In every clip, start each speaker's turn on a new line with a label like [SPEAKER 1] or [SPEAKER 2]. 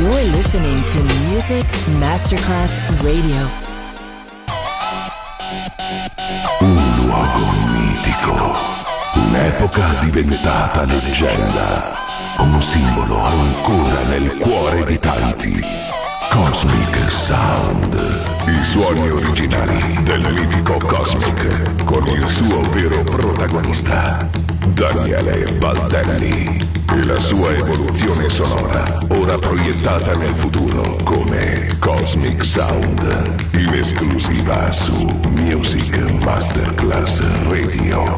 [SPEAKER 1] You're listening to Music Masterclass Radio.
[SPEAKER 2] Un luogo mitico, un'epoca diventata leggenda, un simbolo ancora nel cuore di tanti. Cosmic Sound, i suoni originali del mitico Cosmic, con il suo vero protagonista, Daniele Baldelli, e la sua evoluzione sonora, ora proiettata nel futuro come Cosmic Sound, in esclusiva su Music Masterclass Radio.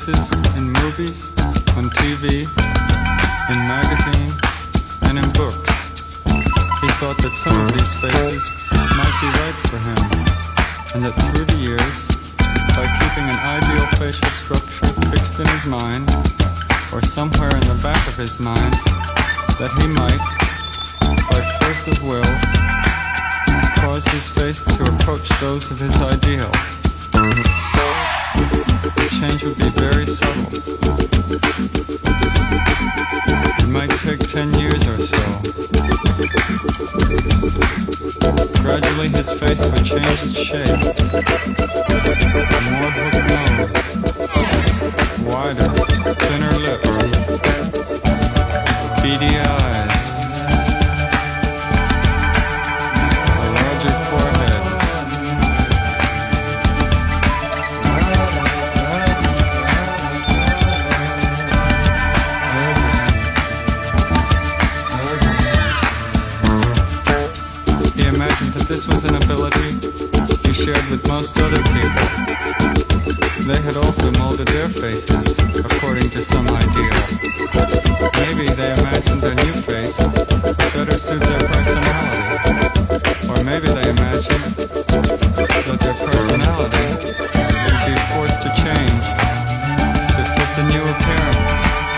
[SPEAKER 3] faces in movies, on TV, in magazines, and in books. He thought that some of these faces might be right for him, and that through the years, by keeping an ideal facial structure fixed in his mind, or somewhere in the back of his mind, that he might, by force of will, cause his face to approach those of his ideal. The change would be very subtle. It might take 10 years or so. Gradually his face would change its shape. A more hooked nose, wider, thinner lips, beady eyes, a larger forehead. He imagined that this was an ability he shared with most other people. They had also molded their faces according to some ideal. Maybe they imagined their new face would better suit their personality. Or maybe they imagined that their personality would be forced to change to fit the new appearance.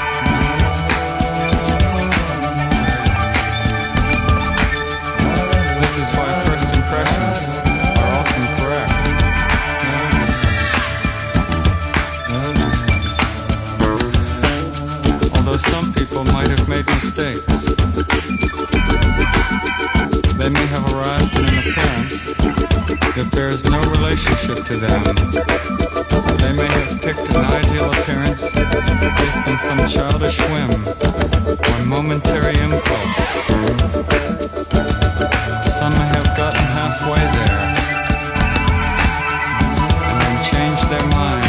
[SPEAKER 3] This is why first impressions are often correct. Although some people might have made mistakes. They may have arrived at an appearance that bears no relationship to them. They may have picked an ideal appearance based on some childish whim or momentary impulse. Some may have gotten halfway there and then changed their minds.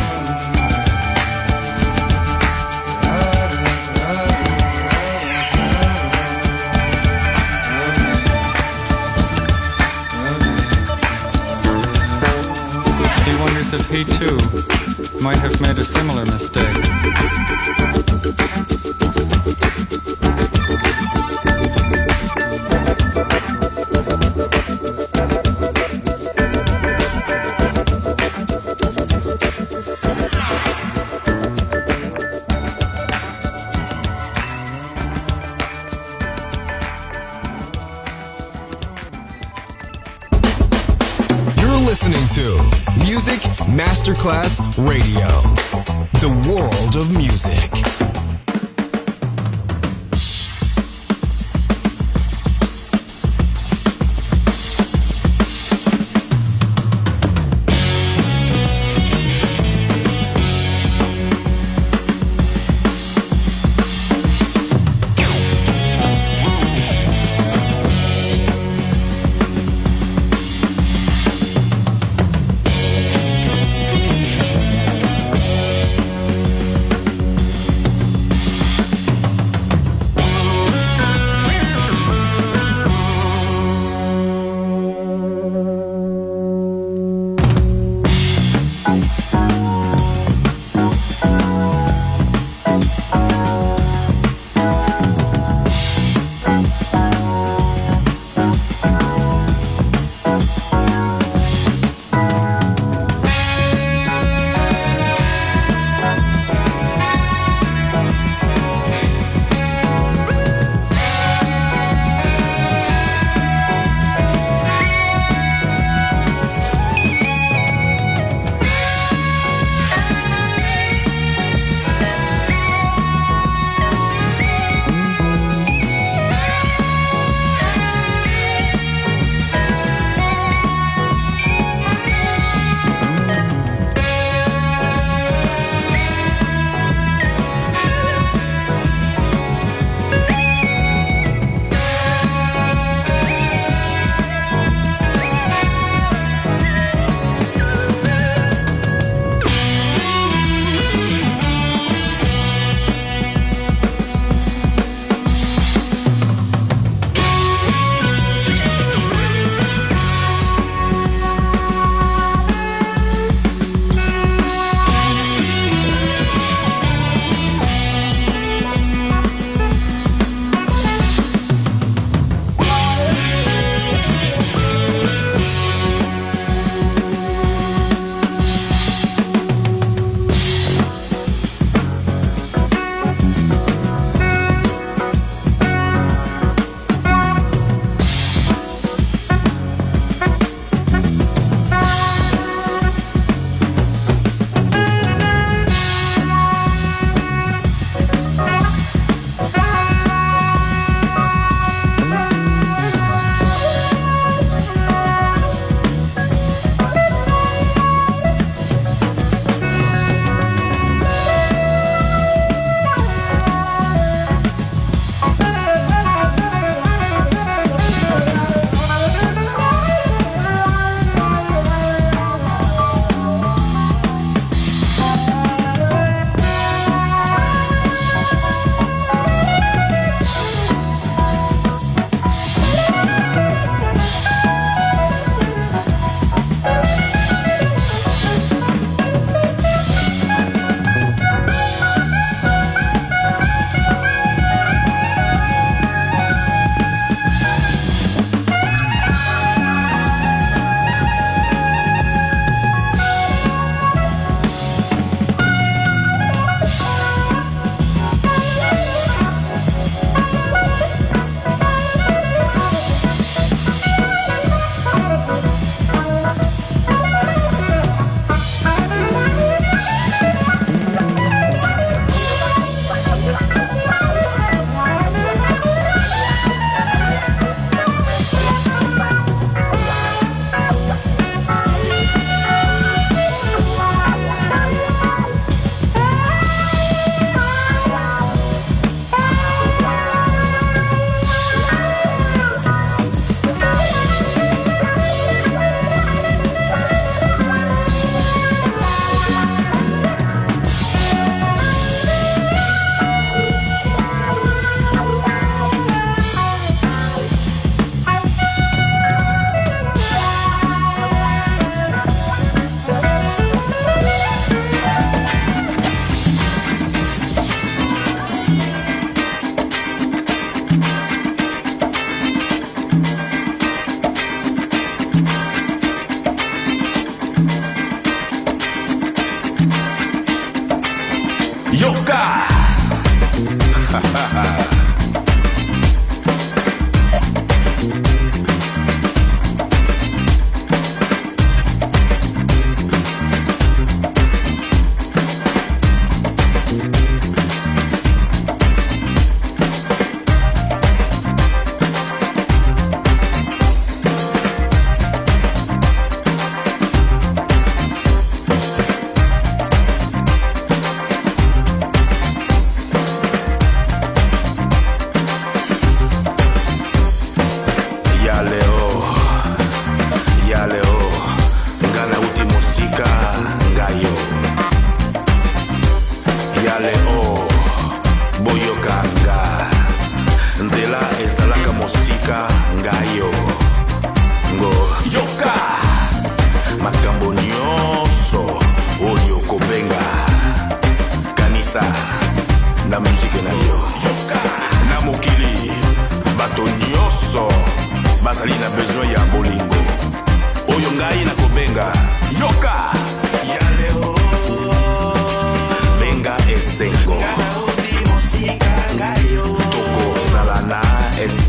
[SPEAKER 3] He wonders if he too might have made a similar mistake.
[SPEAKER 4] Listening to Music Masterclass Radio, the world of music.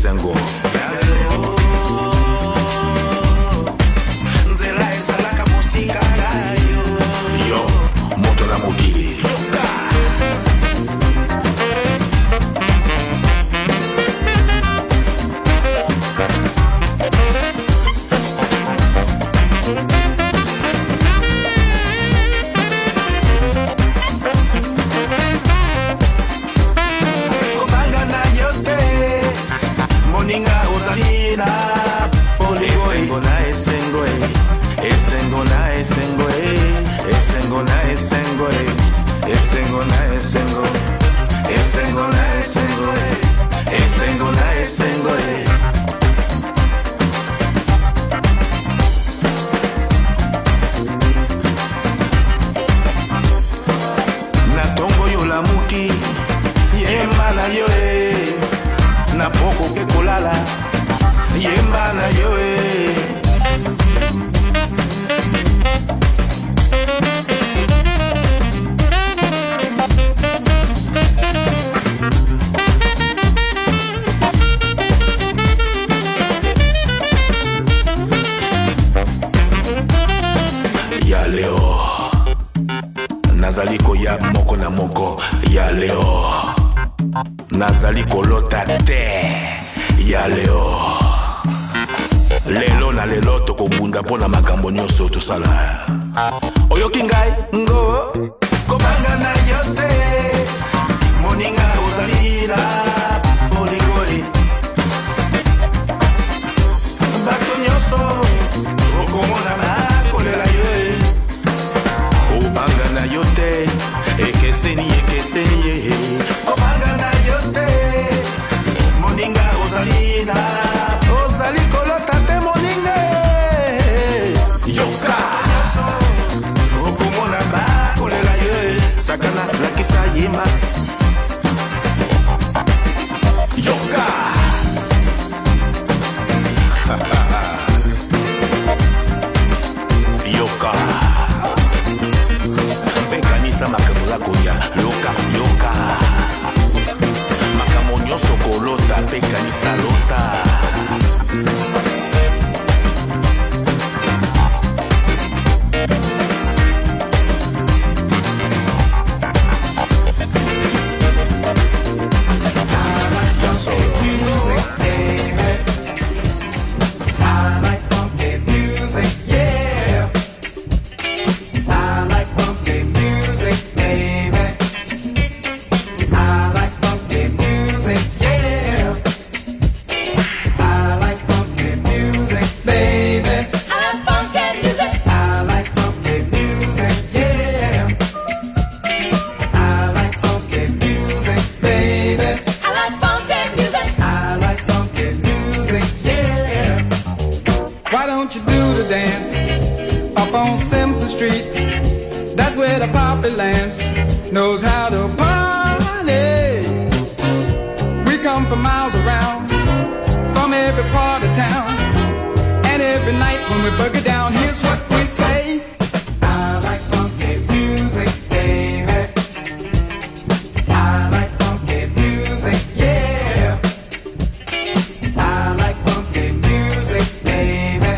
[SPEAKER 5] esengo nzela ezalaka mosika nayo yo moto na mokili nazaliko ya moko na moko ya leo nazaliko lota te ya leo lelo na lelo tokobunda pona makambo nyonso tosala oyoki ngai ngo kobanga na yote moninga ozalina boligoli bato nyonso okomona na kolela ye kobanga na yote ekeseni ye kobanga na yote moninga ozalina ozali kolota te moninga yoka okomona bakolela ye sakana lakisa yemba yoka yoka mpekanisa makambo ya koya yoka makambo nyonso kolota mpekanisa lota
[SPEAKER 6] knows how to party. We come from miles around, from every part of town, and every night when we boogie down, here's what we say. I like funky music, baby. I like funky music, yeah. I like funky music, baby.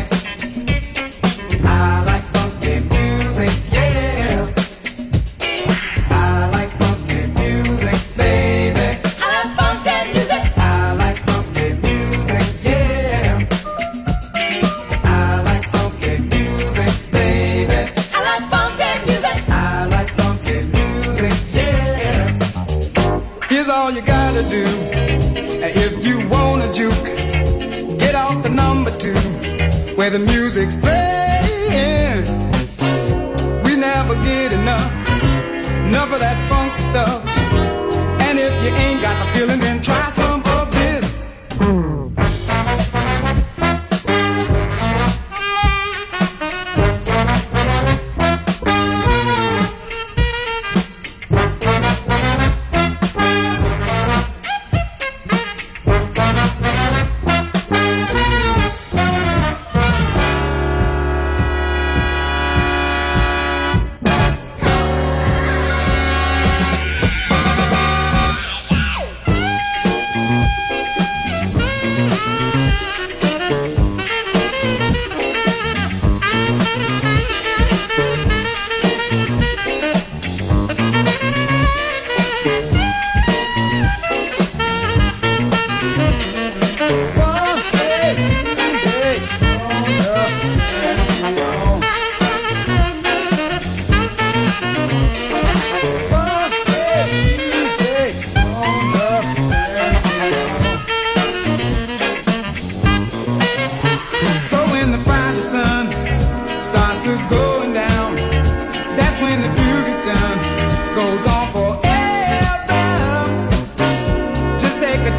[SPEAKER 6] I like funky music, yeah. I like funky music, baby. I like funky music. I like funky music, yeah. I like funky music, baby. I like funky music. I like funky music, yeah. Here's all you gotta do. If you wanna juke, get off the number 2 where the music's playing. We never get enough of that funky stuff. And if you ain't got the feeling, then try some of this.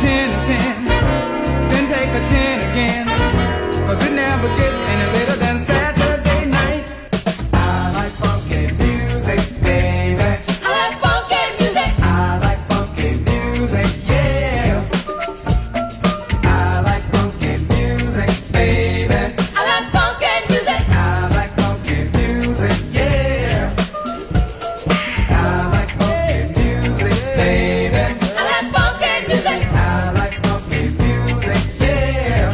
[SPEAKER 3] 10 and 10, then take a 10 again, 'cause it never gets any later than Saturday night. I like funky music, baby.
[SPEAKER 7] I like funky music.
[SPEAKER 3] I like funky music, yeah. I like funky music, baby.
[SPEAKER 7] I like funky music.
[SPEAKER 3] I like funky music, yeah. I like funky music, baby.
[SPEAKER 7] I like funky music.
[SPEAKER 3] I like funky music, yeah.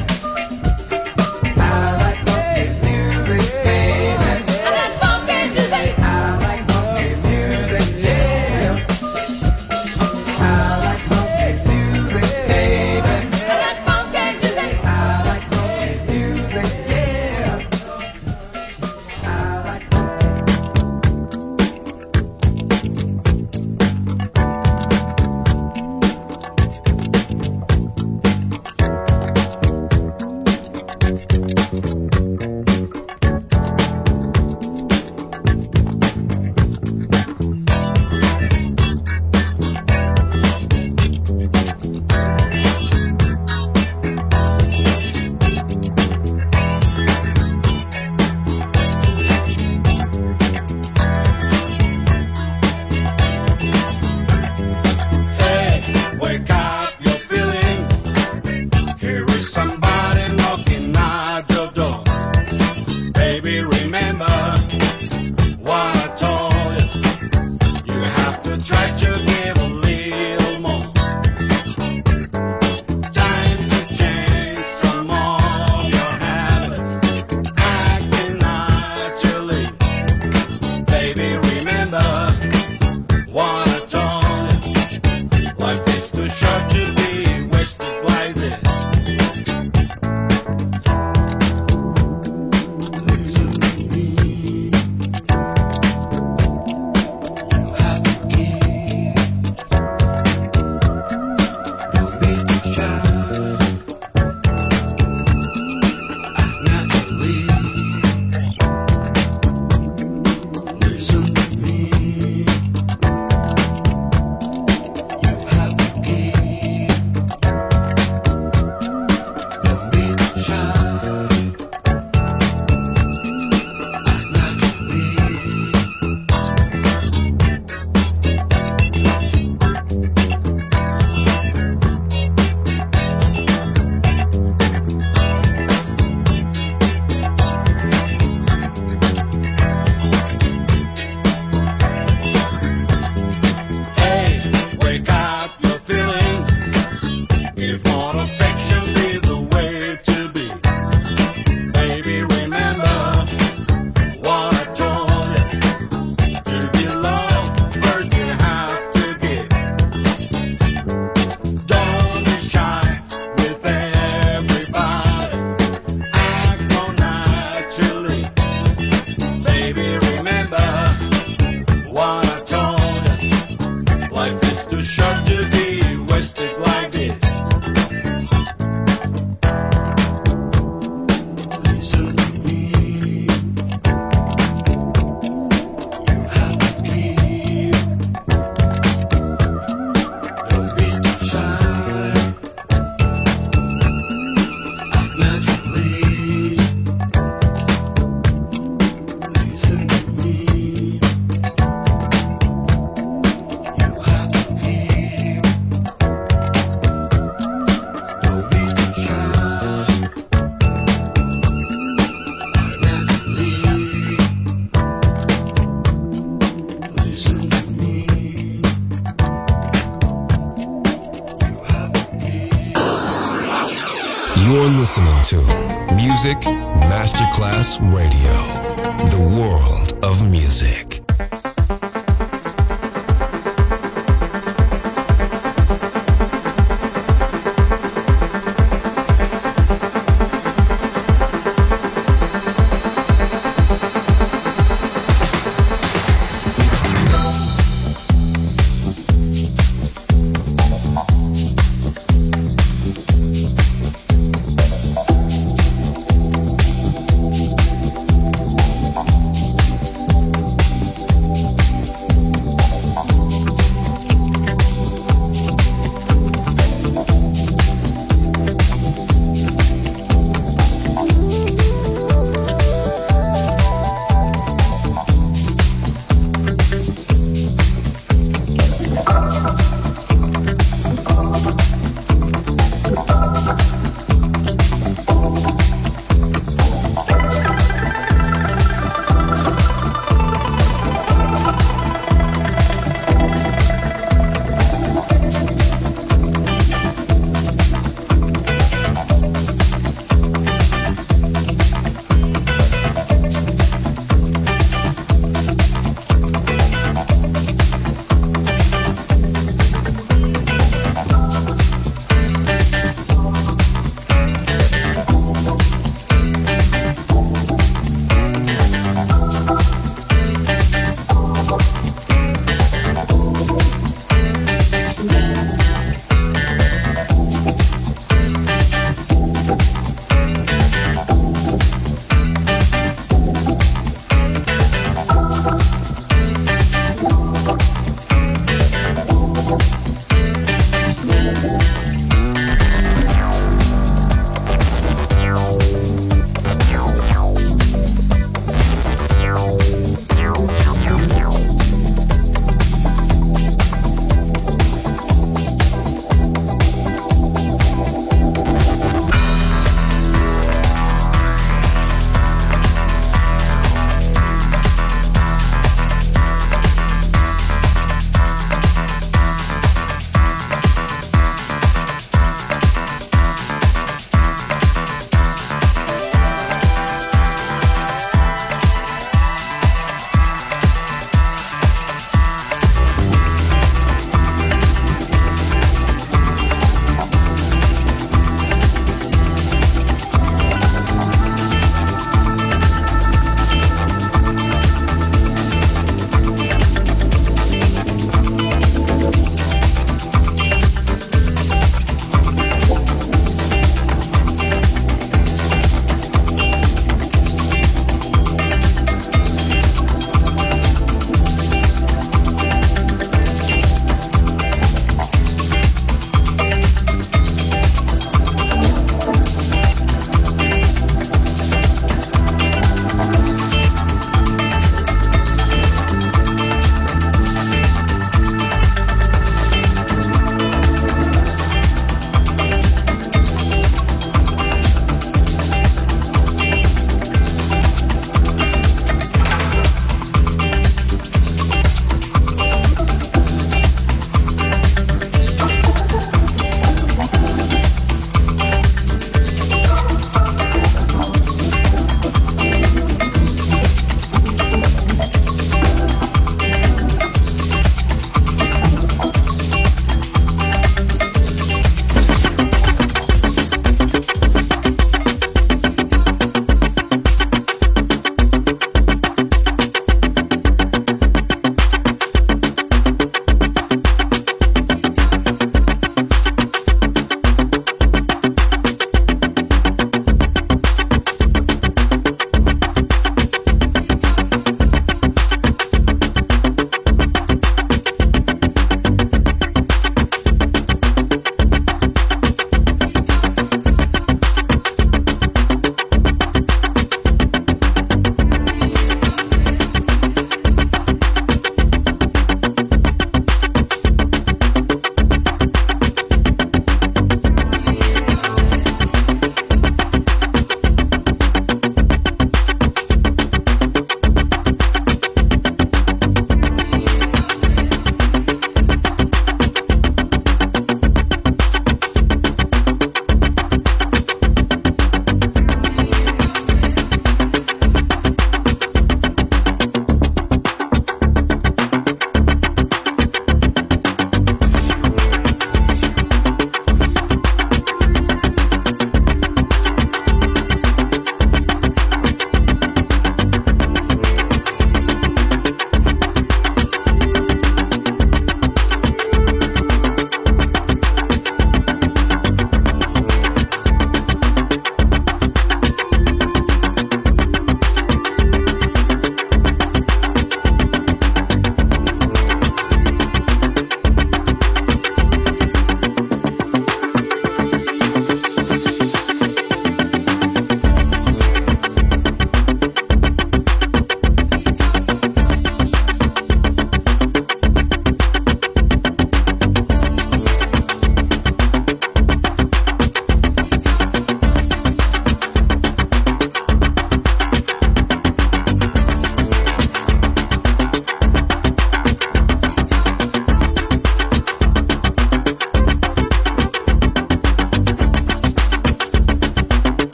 [SPEAKER 3] I like funky music, baby.
[SPEAKER 7] I like funky music.
[SPEAKER 3] I like funky music, yeah. I like funky music, baby.
[SPEAKER 7] I like funky music.
[SPEAKER 3] I like funky music, yeah. I like
[SPEAKER 8] Wake up your feelings. Here is somebody knocking at your door. Baby, remember what I told you. You have to try to give a little more. Time to change some of your habits. Acting naturally. Baby, remember what I told you. Life is too short to be wasted like this. Listen to me. You have to give. Don't be too shy. Act naturally. Listen to me. You have to give. Don't be too shy. Act naturally. Hey, wake up your feelings. If not affection be the way to be. Baby, remember what I told you. To be loved, first you have to give. Don't be shy with everybody. Act more naturally. Baby, remember what I told you. Life is too short to be wasted like this. Listen to me. You have to give. Don't be too shy. Act naturally. Listen to me. You have to give. Don't be too shy. Act naturally. Listen to me. You have to give.
[SPEAKER 4] You're listening to Music Masterclass Radio, the world of music.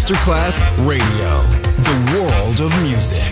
[SPEAKER 4] Masterclass Radio, the world of music.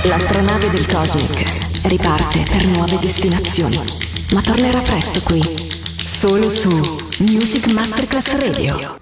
[SPEAKER 1] L'astronave del Cosmic riparte per nuove destinazioni, ma tornerà presto qui, solo su Music Masterclass Radio.